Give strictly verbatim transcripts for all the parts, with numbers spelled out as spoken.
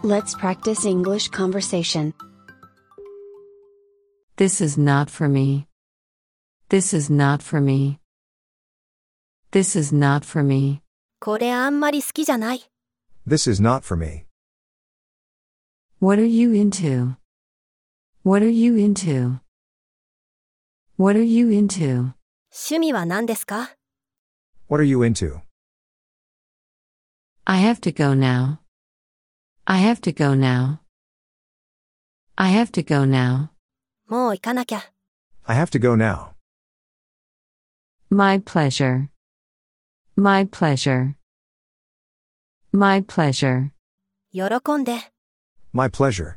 Let's practice English conversation. This is not for me. This is not for me. This is not for me. これあんまり好きじゃない。 This is not for me. What are you into? What are you into? What are you into? 趣味は何ですか？ What are you into? I have to go now. I have to go now. I have to go now. もう行かなきゃ。 I have to go now. My pleasure. My pleasure. My pleasure. 喜んで。 My pleasure.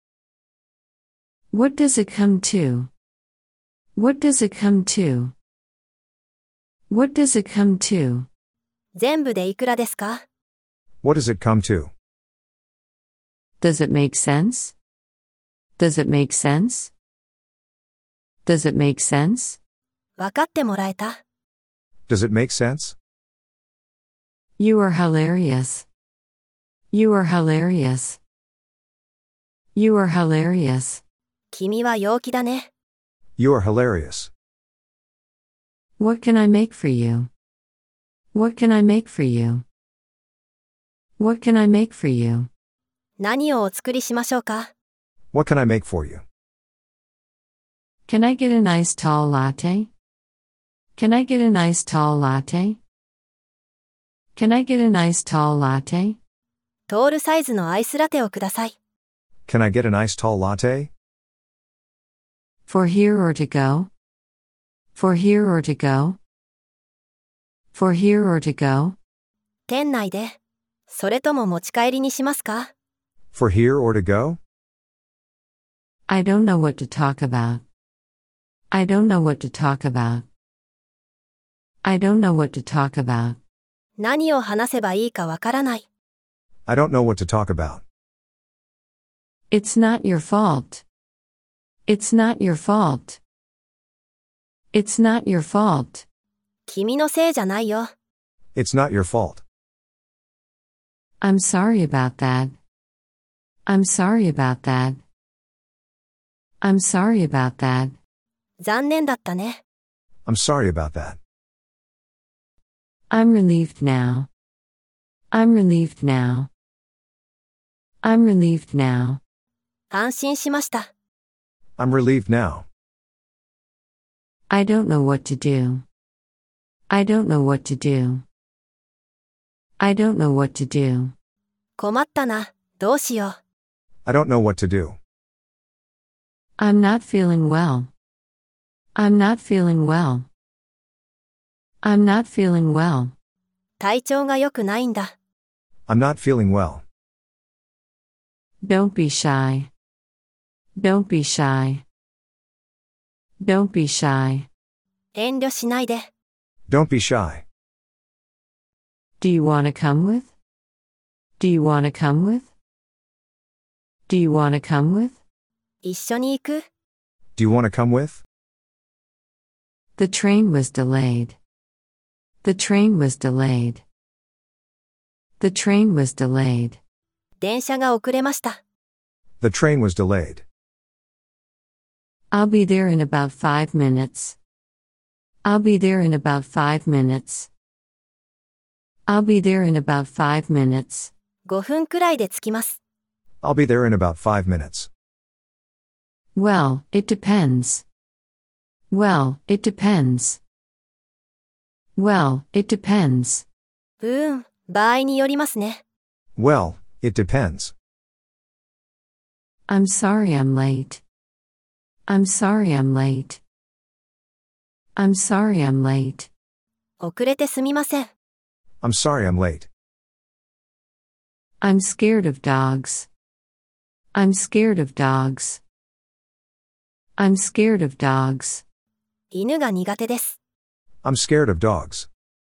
What does it come to? What does it come to? What does it come to? 全部でいくらですか？ What does it come to? Does it make sense? Does it make sense? Does it make sense? 分かってもらえた？ Does it make sense? You are hilarious. You are hilarious. You are hilarious. 君は陽気だね。 You are hilarious. What can I make for you? What can I make for you? What can I make for you? 何をお作りしましょうか？ What can I make for you? Can I get a nice tall latte? Can I get a nice tall latte? Can I get a nice tall latte? トールサイズのアイスラテをください。 Can I get a nice tall latte? For here or to go? For here or to go? For here or to go? 店内で。それとも持ち帰りにしますか？ For here or to go? I don't know what to talk about. I don't know what to talk about. I don't know what to talk about. 何を話せばいいかわからない。 I don't know what to talk about. It's not your fault. It's not your fault. It's not your fault. 君のせいじゃないよ。 It's not your fault. I'm sorry about that. I'm sorry about that. I'm sorry about that. 残念だったね。 I'm sorry about that. I'm relieved now. I'm relieved now. I'm relieved now. 安心しました。 I'm relieved now. I don't know what to do. I don't know what to do. I don't know what to do. 困ったな。どうしよう。 I don't know what to do. I'm not feeling well. I'm not feeling well. I'm not feeling well. 体調が良くないんだ。 I'm not feeling well. Don't be shy. Don't be shy. Don't be shy. 遠慮しないで。 Don't be shy. Do you want to come with? Do you want to come with? Do you want to come with? 一緒に行く？ Do you want to come with? The train was delayed. The train was delayed. The train was delayed. 電車が遅れました。 The train was delayed. I'll be there in about five minutes. I'll be there in about five minutes. I'll be there in about five minutes. ごふんくらいで着きます。 I'll be there in about five minutes. Well, it depends. Well, it depends. Well, it depends. うーん、場合によりますね。 Well, it depends. I'm sorry I'm late. I'm sorry I'm late. I'm sorry I'm late. 遅れてすみません。 I'm sorry I'm late. I'm scared of dogs. I'm scared of dogs. I'm scared of dogs. 犬が苦手です。 I'm scared of dogs.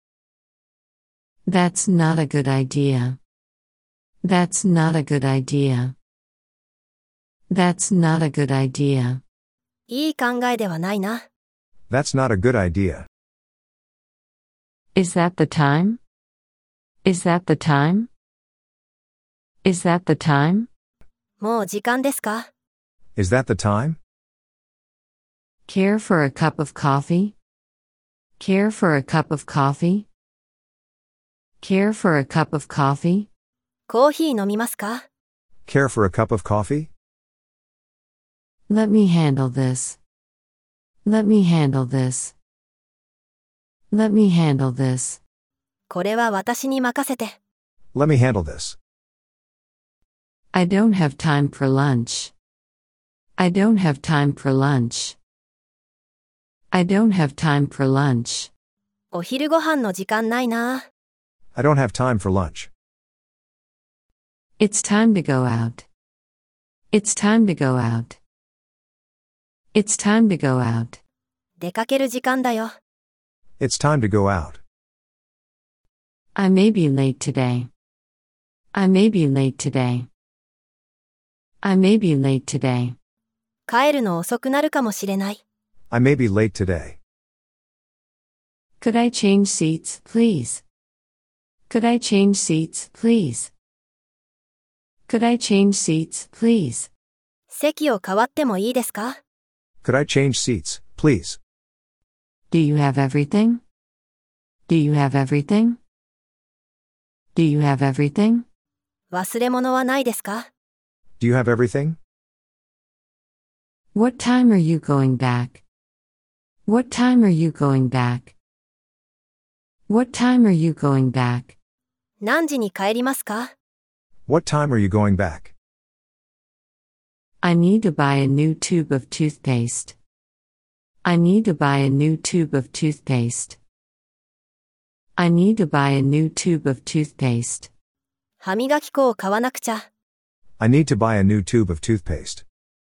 That's not a good idea. That's not a good idea. That's not a good idea. いい考えではないな。 That's not a good idea. Is that the time? Is that the time? Is that the time? もう時間ですか？ Is that the time? Care for a cup of coffee? Care for a cup of coffee? Care for a cup of coffee? コーヒー飲みますか？ Care for a cup of coffee? Let me handle this. Let me handle this. Let me handle this. これは私に任せて。 Let me handle this. I don't have time for lunch. I don't have time for lunch. I don't have time for lunch. お昼ご飯の時間ないな。 I don't have time for lunch. It's time to go out. It's time to go out. It's time to go out. 出かける時間だよ。 It's time to go out. I may be late today. I may be late today. I may be late today. 帰るの遅くなるかもしれない。 I may be late today. Could I change seats, please? Could I change seats, please? Could I change seats, please? 席を変わってもいいですか？ Could I change seats, please? Do you have everything? Do you have everything? Do you have everything? 忘れ物はないですか？ Do you have everything? What time are you going back? What time are you going back? What time are you going back? 何時に帰りますか？ What time are you going back? I need to buy a new tube of toothpaste. I need to buy a new tube of toothpaste. I need to buy a new tube of toothpaste. 歯磨き粉を買わなくちゃ。 I need to buy a new tube of toothpaste.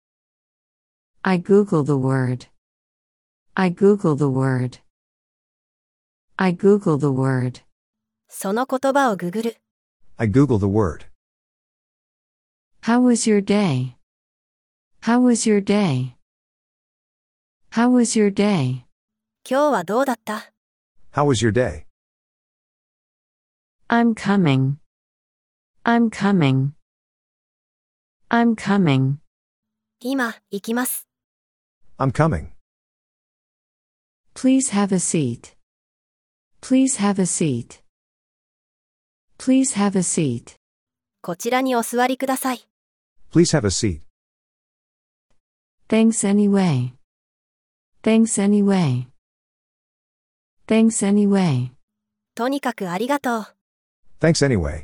I Google the word. I Google the word. I Google the word. その言葉をググる。 I Google the word. How was your day? How was your day? How was your day? 今日はどうだった？ How was your day? I'm coming. I'm coming. I'm coming. 今、行きます。 I'm coming. Please have a seat. Please have a seat. Please have a seat. こちらにお座りください。 Please have a seat. Thanks anyway. Thanks anyway. Thanks anyway. とにかくありがとう。 Thanks anyway.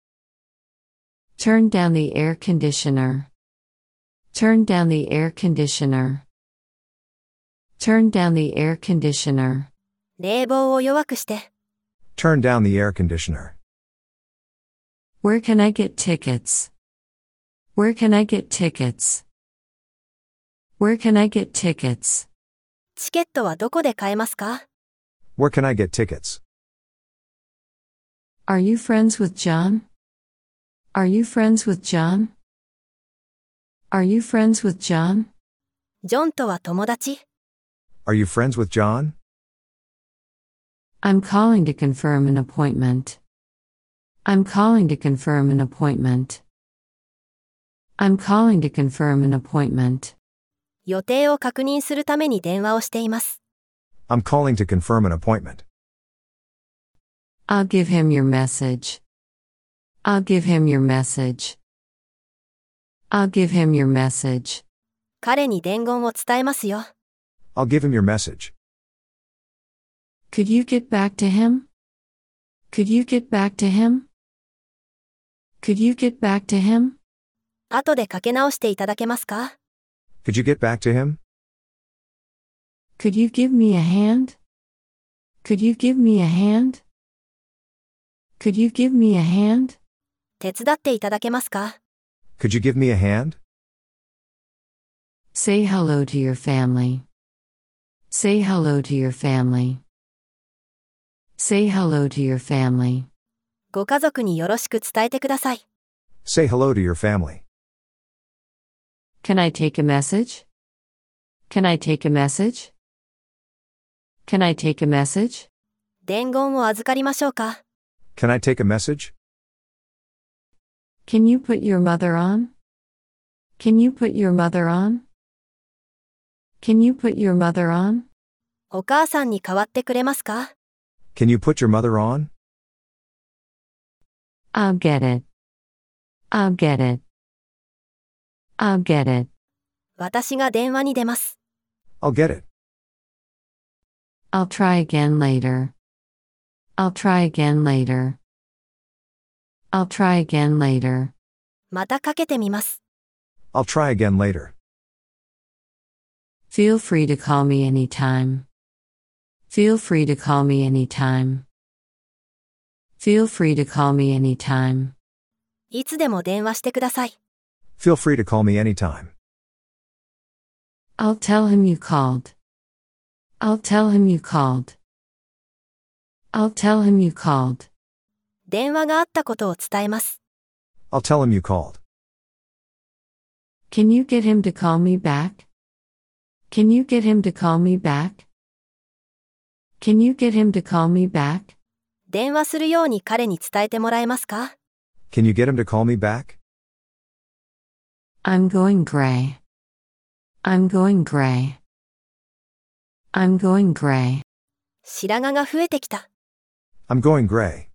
Turn down the air conditioner. Turn down the air conditioner. Turn down the air conditioner. 冷房を弱くして。 Turn down the air conditioner. Where can I get tickets? Where can I get tickets? Where can I get tickets? チケットはどこで買えますか？ Where can I get tickets? Are you friends with John? Are you friends with John? Are you friends with John? ジョンとは友達？ Are you friends with John? I'm calling to confirm an appointment. I'm calling to confirm an appointment. I'm calling to confirm an appointment. 予定を確認するために電話をしています。 I'm calling to confirm an appointment. I'll give him your message. I'll give him your message. I'll give him your message. 彼に伝言を伝えますよ。 I'll give him your message. Could you get back to him? Could you get back to him? Could you get back to him? 後でかけ直していただけますか？ Could you get back to him? Could you give me a hand? Could you give me a hand? Could you give me a hand? 手伝っていただけますか？ Could you give me a hand? Say hello to your family. Say hello to your family. Say hello to your family. ご家族によろしく伝えてください。 Say hello to your family. Can I take a message? Can I take a message? Can I take a message? 伝言を預かりましょうか？ Can I take a message? Can you put your mother on? Can you put your mother on? Can you put your mother on? お母さんに代わってくれますか？ Can you put your mother on? I'll get it. I'll get it. I'll get it. 私が電話に出ます。 I'll get it. I'll try again later. I'll try again later. I'll try again later. またかけてみます。 I'll try again later. Feel free to call me anytime. Feel free to call me anytime. Feel free to call me anytime. いつでも電話してください。 Feel free to call me anytime. I'll tell him you called. I'll tell him you called. I'll tell him you called. 電話があったことを伝えます。 I'll tell him you called. Can you get him to call me back? Can you get him to call me back? Can you get him to call me back? 電話するように彼に伝えてもらえますか？ Can you get him to call me back? I'm going gray. I'm going gray. I'm going gray. 白髪が増えてきた。 I'm going gray.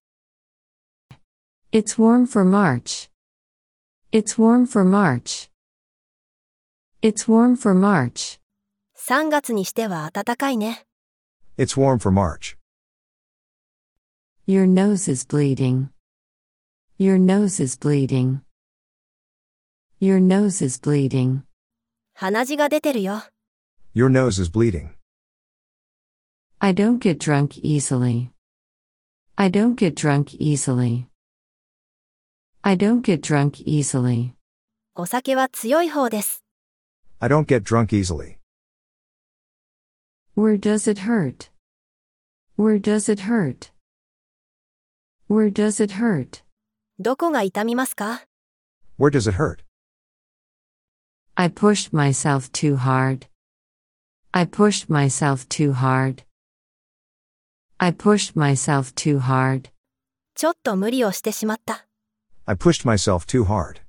It's warm for March. It's warm for March. It's warm for March. さんがつにしては暖かいね。 It's warm for March. Your nose is bleeding. Your nose is bleeding. Your nose is bleeding. 鼻血が出てるよ。 Your nose is bleeding. I don't get drunk easily. I don't get drunk easily. I don't get drunk easily. お酒は強い方です。 I don't get drunk easily. Where does it hurt? Where does it hurt? Where does it hurt? どこが痛みますか？ Where does it hurt? I pushed myself too hard. I pushed myself too hard. I pushed myself too hard. ちょっと無理をしてしまった。 I pushed myself too hard.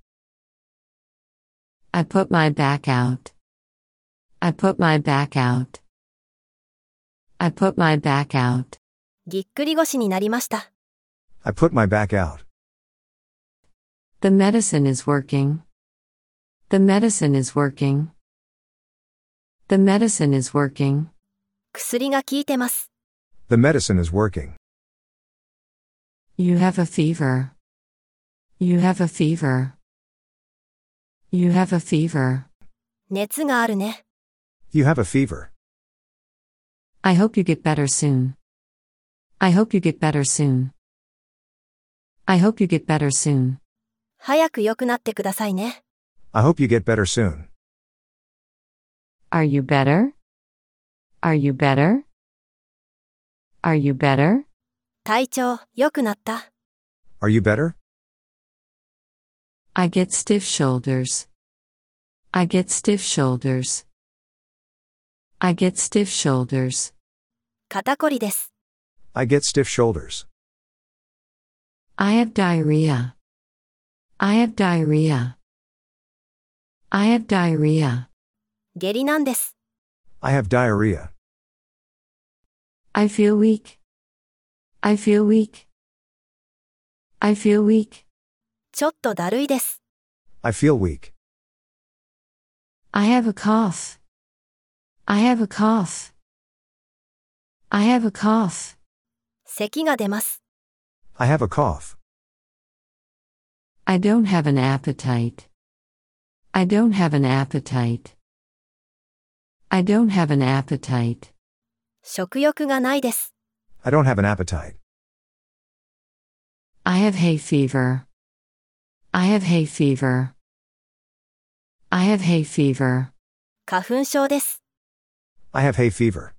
I put my back out. I put my back out. I put my back out. ぎっくり腰になりました。 I put my back out. The medicine is working. The medicine is working. The medicine is working. 薬が効いてます。 The medicine is working. You have a fever. You have a fever. You have a fever. 熱があるね。 You have a fever. I hope you get better soon. I hope you get better soon. I hope you get better soon. 早く良くなってくださいね。 I hope you get better soon. Are you better? Are you better? Are you better? 体調、良くなった。 Are you better? I get stiff shoulders. I get stiff shoulders. I get stiff shoulders. 肩こりです。 I get stiff shoulders. I have diarrhea. I have diarrhea. I have diarrhea. 下痢なんです。 I have diarrhea. I feel weak. I feel weak. I feel weak. ちょっとだるいです。 I feel weak. I have a cough. I have a cough. I have a cough. 咳が出ます。 I have a cough. I don't have an appetite. I don't have an appetite. I don't have an appetite. 食欲がないです。 I don't have an appetite. I have hay fever. I have hay fever. I have hay fever. 花粉症です。 I have hay fever.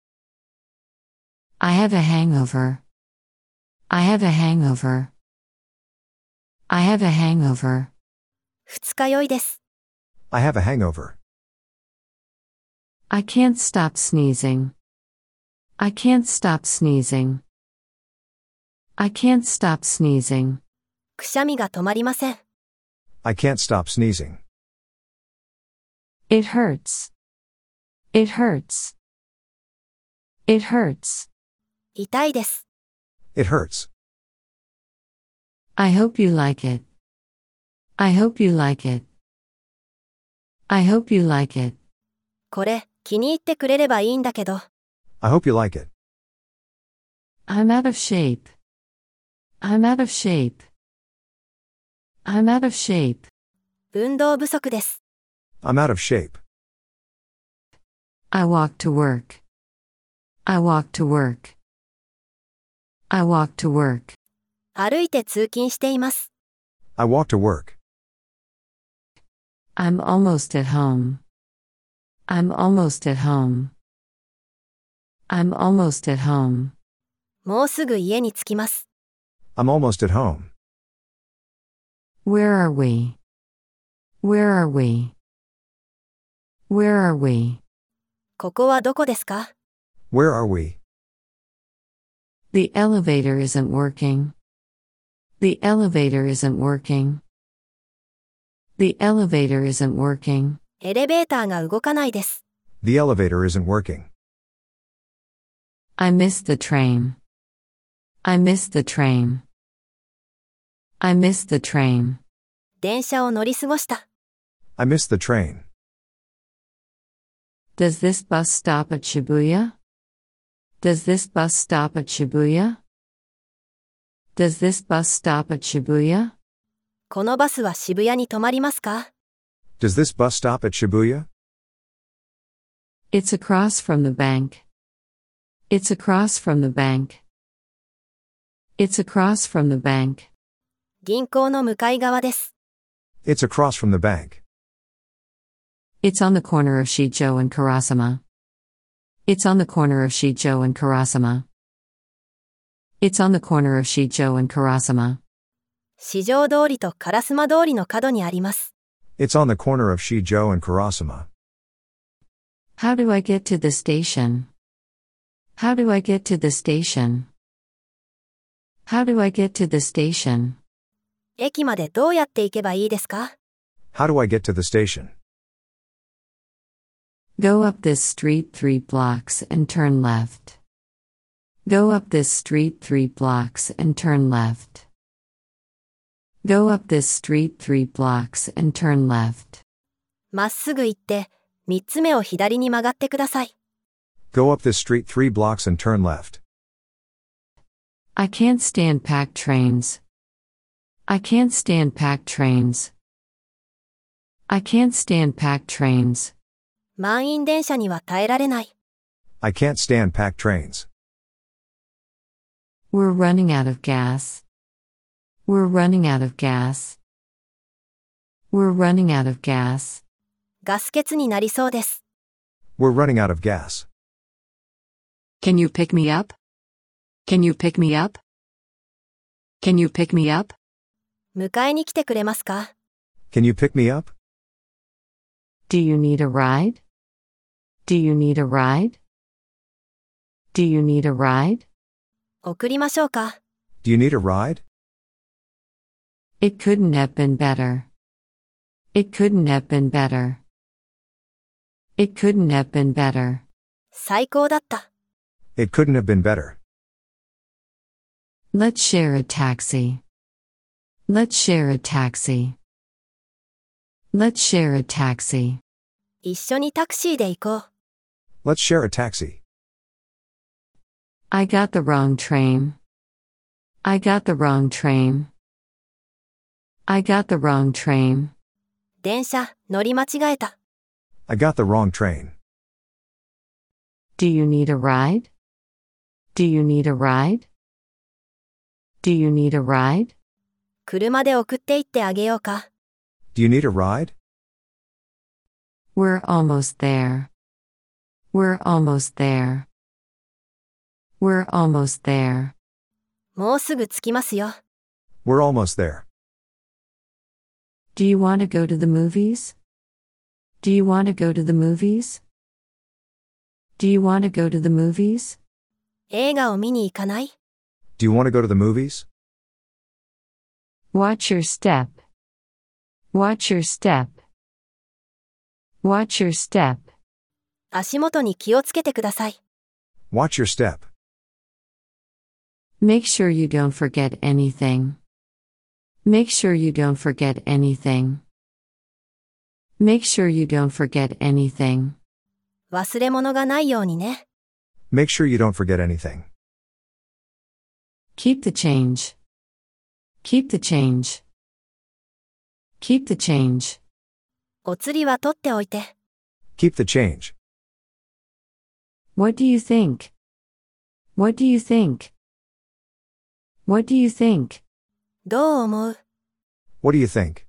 I have a hangover. I have a hangover. I have a hangover. 二日酔いです。 I have a hangover. I can't stop sneezing. I can't stop sneezing. I can't stop sneezing. くしゃみが止まりません。 I can't stop sneezing. It hurts. It hurts. It hurts. 痛いです。 It hurts. I hope you like it. I hope you like it. I hope you like it. これ、気に入ってくれればいいんだけど。 I hope you like it. I'm out of shape. I'm out of shape. I'm out of shape. 運動不足です。 I'm out of shape. I walk to work. I walk to work. I walk to work. 歩いて通勤しています。 I walk to work. I'm almost at home. I'm almost at home. I'm almost at home. もうすぐ家に着きます。 I'm almost at home. Where are we? Where are we? Where are we? ここはどこですか？ Where are we? The elevator isn't working. The elevator isn't working. The elevator isn't working. エレベーターが動かないです。 The elevator isn't working. I missed the train. I missed the train. I missed the train. 電車を乗り過ごした。 I missed the train. Does this bus stop at Shibuya? Does this bus stop at Shibuya? Does this bus stop at Shibuya? このバスは渋谷に止まりますか？ Does this bus stop at Shibuya? It's across from the bank. It's across from the bank. It's across from the bank. 銀行の向かい側です。 It's across from the bank. It's on the corner of Shijo and Karasama. It's on the corner of Shijo and Karasama. It's on the corner of Shijo and Karasama. 四条通りと烏丸通りの角にあります。 It's on the corner of Shijo and Karasama. How do I get to the station? How do I get to the station? How do I get to the station? 駅までどうやって行けばいいですか？ How do I get to the station? Go up this street three blocks and turn left. Go up this street three blocks and turn left. Go up this street three blocks and turn left. まっすぐ行って、三つ目を左に曲がってください。 Go up this street three blocks and turn left. I can't stand packed trains. I can't stand packed trains. I can't stand packed trains. 満員電車には耐えられない。 I can't stand packed trains. We're running out of gas. We're running out of gas. We're running out of gas. ガス欠になりそうです。 We're running out of gas. Can you pick me up? Can you pick me up? Can you pick me up? 迎えに来てくれますか？ Can you pick me up? Do you need a ride? Do you need a ride? Do you need a ride? 送りましょうか？ Do you need a ride? It couldn't have been better. It couldn't have been better. It couldn't have been better. 最高だった。 It couldn't have been better. Let's share a taxi. Let's share a taxi. Let's share a taxi. 一緒にタクシーで行こう。 Let's share a taxi. I got the wrong train. I got the wrong train. I got the wrong train. 電車、乗り間違えた。 I got the wrong train. Do you need a ride? Do you need a ride? Do you need a ride? 車で送って行ってあげようか。 Do you need a ride? We're almost there. We're almost there. We're almost there. もうすぐ着きますよ。 We're almost there. Do you want to go to the movies? Do you want to go to the movies? Do you want to go to the movies? 映画を見に行かない？ Do you want to go to the movies? Watch your step. Watch your step. Watch your step. 足元に気をつけてください。 Watch your step. Make sure you don't forget anything. Make sure you don't forget anything. Make sure you don't forget anything. 忘れ物がないようにね。 Make sure you don't forget anything. Keep the change. Keep the change. Keep the change. お釣りは取っておいて。 Keep the change. What do you think? What do you think? What do you think? どう思う？ What do you think?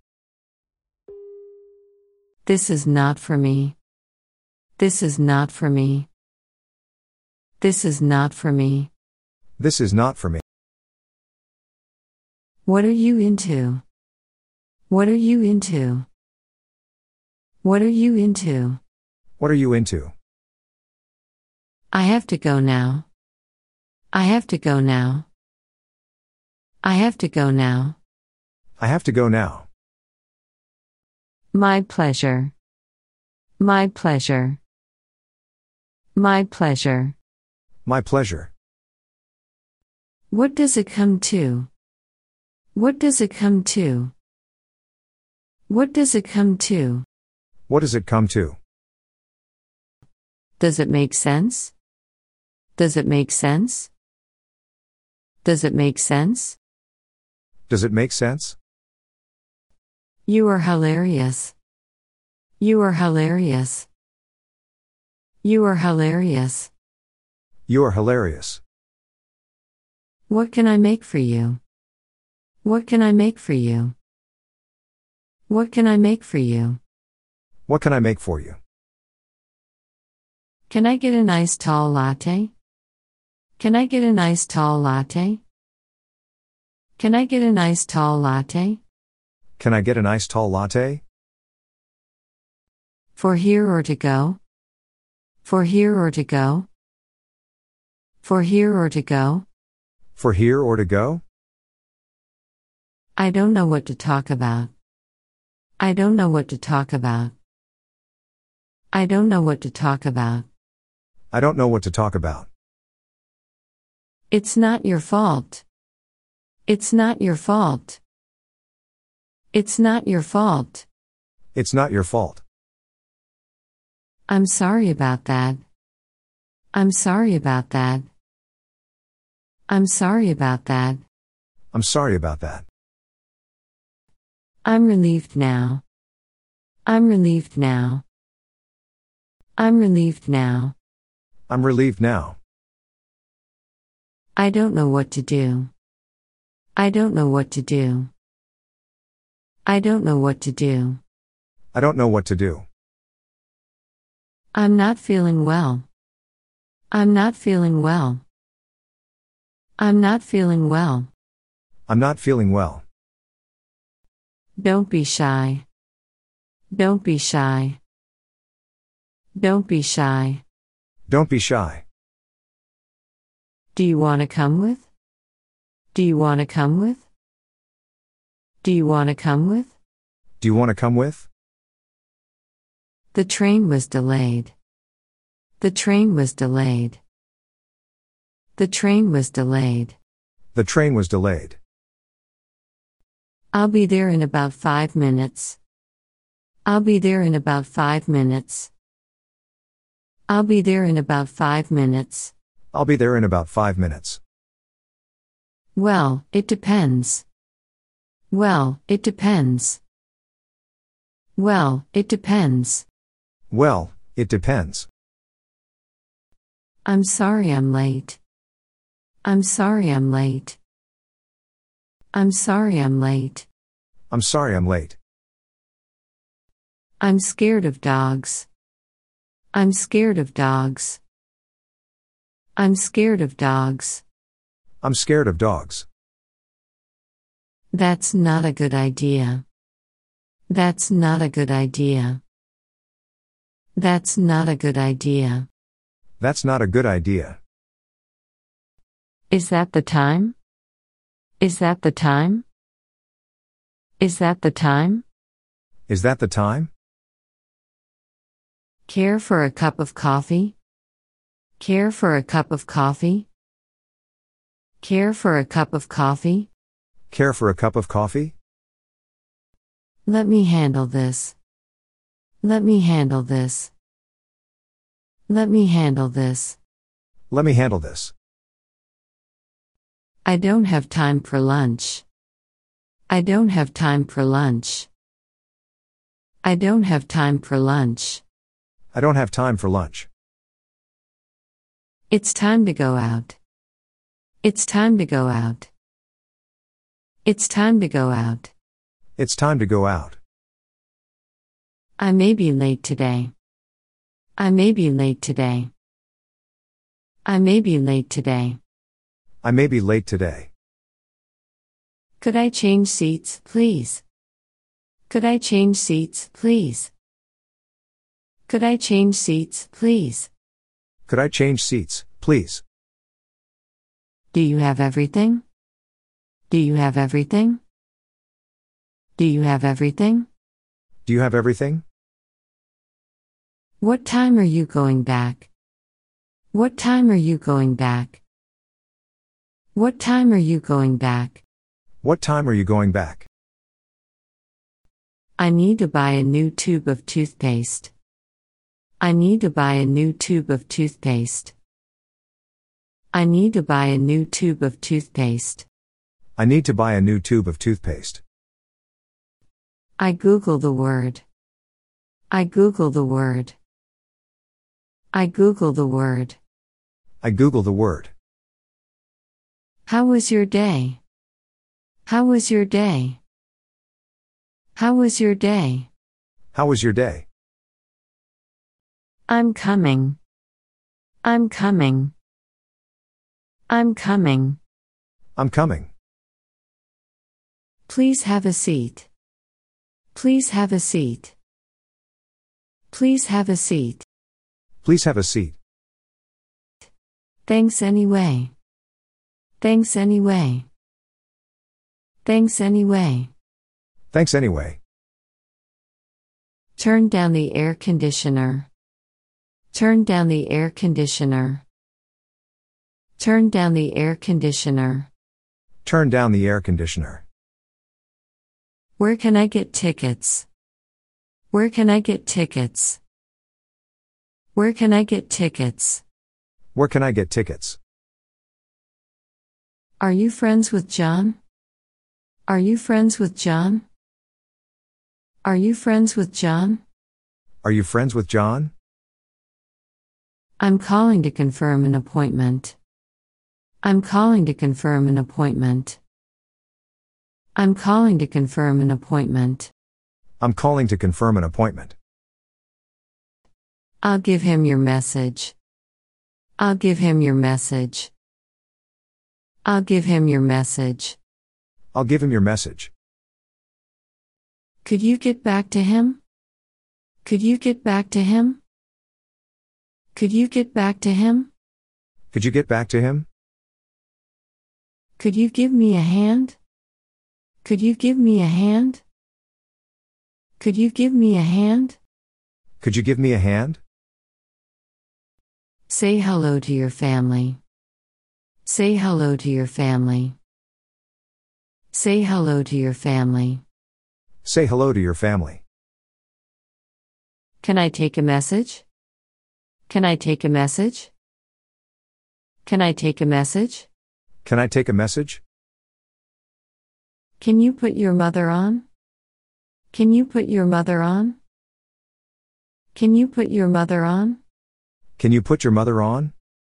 This is not for me. This is not for me. This is not for me. This is not for me. What are you into? What are you into? What are you into? What are you into? I have to go now. I have to go now. I have to go now. I have to go now. My pleasure. My pleasure. My pleasure. My pleasure. What does it come to? What does it come to? What does it come to? What does it come to? Does it make sense? Does it make sense? Does it make sense? Does it make sense? You are hilarious. You are hilarious. You are hilarious. You are hilarious. What can I make for you? What can I make for you? What can I make for you? What can I make for you? Can I get a nice tall latte? Can I get a nice tall latte? Can I get a nice tall latte? Can I get an iced tall latte? For here or to go? For here or to go? For here or to go? For here or to go? I don't know what to talk about. I don't know what to talk about. I don't know what to talk about. I don't know what to talk about. It's not your fault. It's not your fault. It's not your fault. It's not your fault. I'm sorry about that. I'm sorry about that. I'm sorry about that. I'm sorry about that. I'm relieved now. I'm relieved now. I'm relieved now. I'm relieved now. I don't know what to do. I don't know what to do. I don't know what to do. I don't know what to do. I'm not feeling well. I'm not feeling well. I'm not feeling well. I'm not feeling well. Don't be shy. Don't be shy. Don't be shy. Don't be shy. Do you want to come with? Do you want to come with? Do you want to come with? Do you want to come with? The train was delayed. The train was delayed. The train was delayed. The train was delayed. I'll be there in about five minutes. I'll be there in about five minutes. I'll be there in about five minutes. I'll be there in about five minutes. Well, it depends. Well, it depends. Well, it depends. Well, it depends. I'm sorry I'm late. I'm sorry I'm late. I'm sorry I'm late. I'm sorry I'm late. I'm scared of dogs. I'm scared of dogs. I'm scared of dogs. I'm scared of dogs. That's not a good idea. That's not a good idea. That's not a good idea. That's not a good idea. Is that the time? Is that the time? Is that the time? Is that the time? Care for a cup of coffee? Care for a cup of coffee? Care for a cup of coffee? Care for a cup of coffee? Let me handle this. Let me handle this. Let me handle this. Let me handle this. I don't have time for lunch. I don't have time for lunch. I don't have time for lunch. I don't have time for lunch. It's time to go out. It's time to go out. It's time to go out. It's time to go out. I may be late today. I may be late today. I may be late today. I may be late today. Could I change seats, please? Could I change seats, please? Could I change seats, please? Could I change seats, please? Do you have everything? Do you have everything? Do you have everything? Do you have everything? What time are you going back? What time are you going back? What time are you going back? What time are you going back? I need to buy a new tube of toothpaste. I need to buy a new tube of toothpaste. I need to buy a new tube of toothpaste. I need to buy a new tube of toothpaste. I Google the word. I Google the word. I Google the word. I Google the word. How was your day? How was your day? How was your day? How was your day? I'm coming. I'm coming. I'm coming. I'm coming. Please have a seat. Please have a seat. Please have a seat. Please have a seat. Thanks anyway. Thanks anyway. Thanks anyway. Thanks anyway. Turn down the air conditioner. Turn down the air conditioner. Turn down the air conditioner. Turn down the air conditioner. Where can I get tickets? Where can I get tickets? Where can I get tickets? Where can I get tickets? Are you friends with John? Are you friends with John? Are you friends with John? Are you friends with John? I'm calling to confirm an appointment. I'm calling to confirm an appointment. I'm calling to confirm an appointment. I'm calling to confirm an appointment. I'll give him your message. I'll give him your message. I'll give him your message. I'll give him your message. Could you get back to him? Could you get back to him? Could you get back to him? Could you get back to him? Could you give me a hand? Could you give me a hand? Could you give me a hand? Could you give me a hand? Say hello to your family. Say hello to your family. Say hello to your family. Say hello to your family. Can I take a message? Can I take a message? Can I take a message? Can I take a message? Can you put your mother on? Can you put your mother on? Can you put your mother on? Can you put your mother on?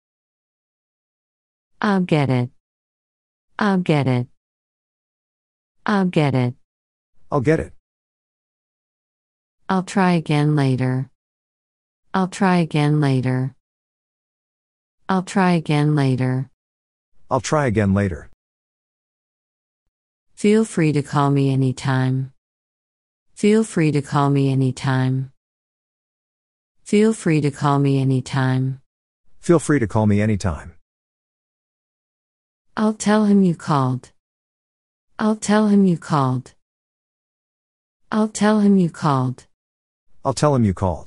I'll get it. I'll get it. I'll get it. I'll get it. I'll try again later. I'll try again later. I'll try again later. I'll try again later. Feel free to call me anytime. Feel free to call me anytime. Feel free to call me anytime. Feel free to call me anytime. I'll tell him you called. I'll tell him you called. I'll tell him you called. I'll tell him you called.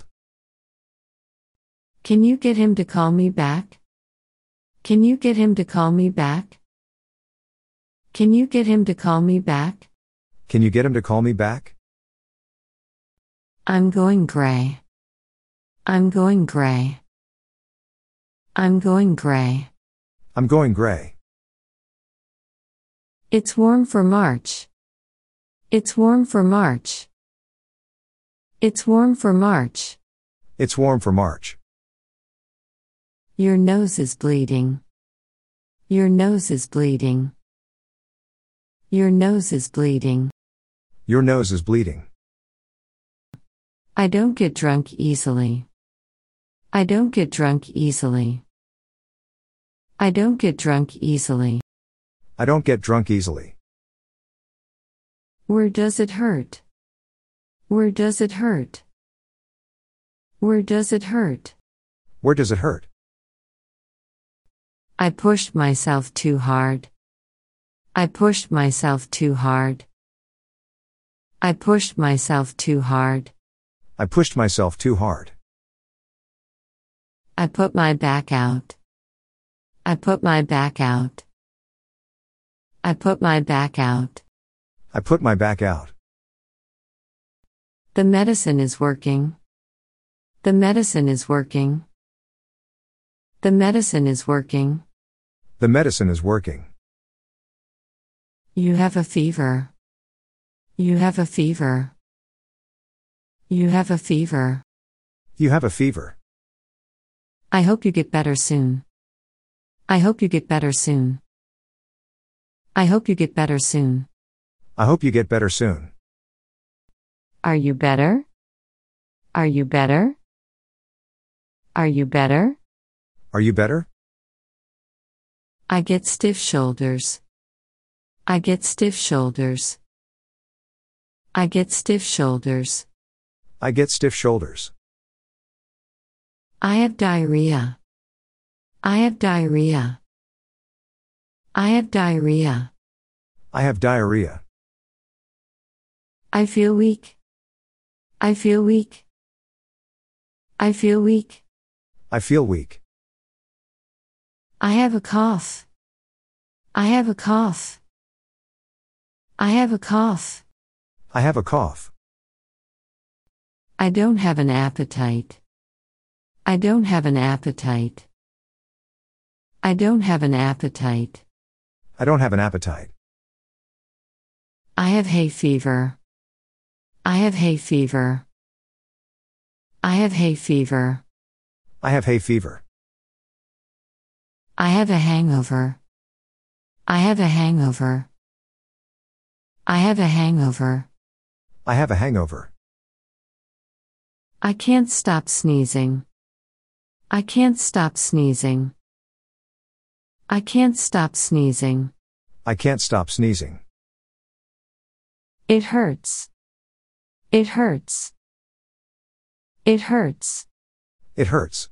Can you get him to call me back? Can you get him to call me back? Can you get him to call me back? Can you get him to call me back? I'm going gray. I'm going gray. I'm going gray. I'm going gray. It's warm for March. It's warm for March. It's warm for March. It's warm for March. Your nose is bleeding. Your nose is bleeding. Your nose is bleeding. Your nose is bleeding. I don't get drunk easily. I don't get drunk easily. I don't get drunk easily. I don't get drunk easily. Where does it hurt? Where does it hurt? Where does it hurt? Where does it hurt? I pushed myself too hard. I pushed myself too hard. I pushed myself too hard. I pushed myself too hard. I put my back out. I put my back out. I put my back out. I put my back out. The medicine is working. The medicine is working. The medicine is working. The medicine is working. You have a fever. You have a fever. You have a fever. You have a fever. I hope you get better soon. I hope you get better soon. I hope you get better soon. I hope you get better soon. Are you better? Are you better? Are you better? Are you better? I get stiff shoulders. I get stiff shoulders. I get stiff shoulders. I get stiff shoulders. I have diarrhea. I have diarrhea. I have diarrhea. I have diarrhea. I feel weak. I feel weak. I feel weak. I feel weak. I have a cough. I have a cough. I have a cough. I have a cough. I don't have an appetite. I don't have an appetite. I don't have an appetite. I don't have an appetite. I have hay fever. I have hay fever. I have hay fever. I have hay fever. I have a hangover. I have a hangover. I have a hangover. I have a hangover. I can't stop sneezing. I can't stop sneezing. I can't stop sneezing. I can't stop sneezing. It hurts. It hurts. It hurts. It hurts.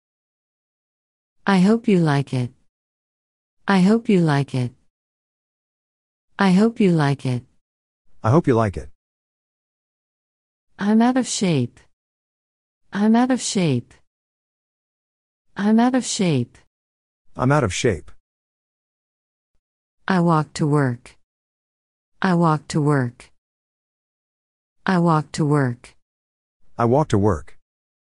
I hope you like it. I hope you like it. I hope you like it. I hope you like it. I'm out of shape. I'm out of shape. I'm out of shape. I'm out of shape. I walk to work. I walk to work. I walk to work. I walk to work.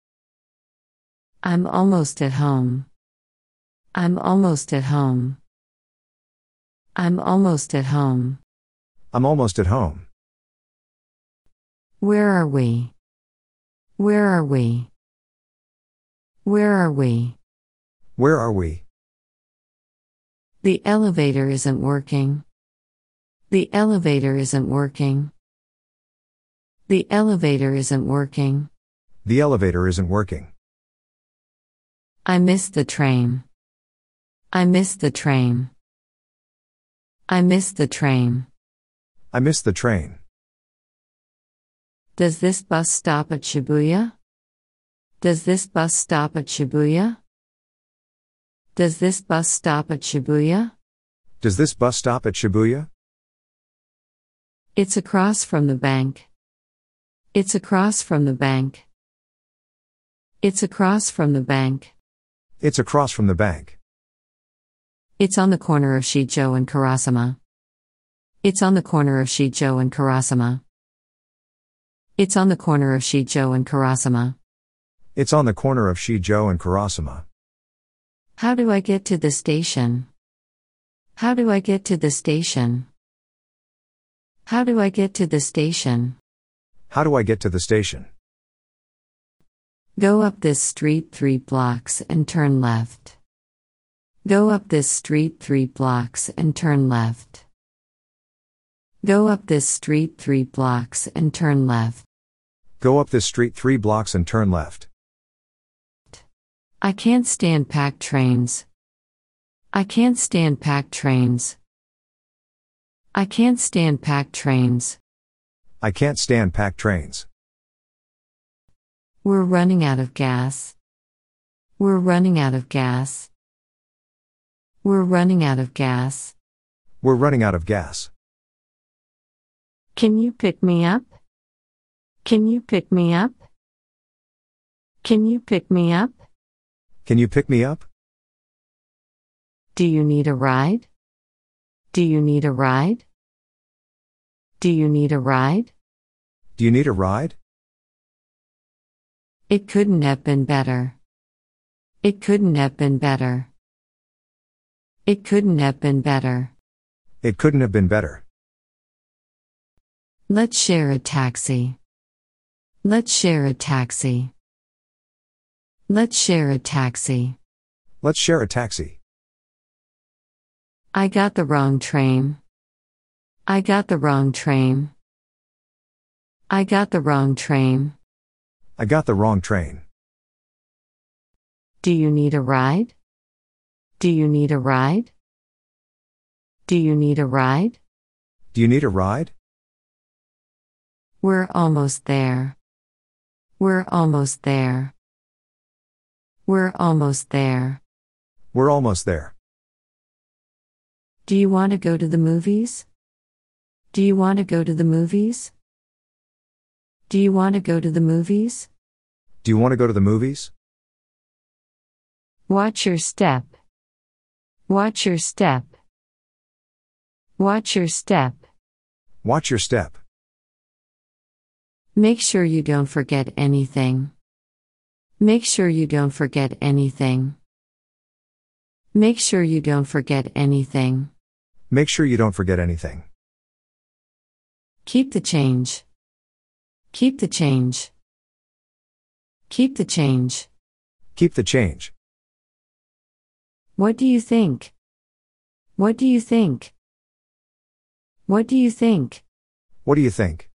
I'm almost at home. I'm almost at home. I'm almost at home. I'm almost at home. Where are we? Where are we? Where are we? Where are we? The elevator isn't working. The elevator isn't working. The elevator isn't working. The elevator isn't working. I missed the train. I missed the train. I missed the train. I missed the train. Does this bus stop at Shibuya? Does this bus stop at Shibuya? Does this bus stop at Shibuya? Does this bus stop at Shibuya? It's across from the bank. It's across from the bank. It's across from the bank. It's across from the bank. It's on the corner of Shijo and Karasama. It's on the corner of Shijo and Karasama. It's on the corner of Shijo and Karasama. It's on the corner of Shijo and Karasama. How do I get to the station? How do I get to the station? How do I get to the station? How do I get to the station? Go up this street three blocks and turn left. Go up this street three blocks and turn left. Go up this street three blocks and turn left. Go up this street three blocks and turn left. I can't stand packed trains. I can't stand packed trains. I can't stand packed trains. I can't stand packed trains. We're running out of gas. We're running out of gas. We're running out of gas. We're running out of gas. Can you pick me up? Can you pick me up? Can you pick me up? Can you pick me up? Do you need a ride? Do you need a ride? Do you need a ride? Do you need a ride? It couldn't have been better. It couldn't have been better. It couldn't have been better. It couldn't have been better. Let's share a taxi. Let's share a taxi. Let's share a taxi. Let's share a taxi. I got the wrong train. I got the wrong train. I got the wrong train. I got the wrong train. Do you need a ride? Do you need a ride? Do you need a ride? Do you need a ride? We're almost there. We're almost there. We're almost there. We're almost there. Do you want to go to the movies? Do you want to go to the movies? Do you want to go to the movies? Do you want to go to the movies? Watch your step. Watch your step. Watch your step. Watch your step. Make sure you don't forget anything. Make sure you don't forget anything. Make sure you don't forget anything. Make sure you don't forget anything. Keep the change. Keep the change. Keep the change. Keep the change. What do you think? What do you think? What do you think? What do you think?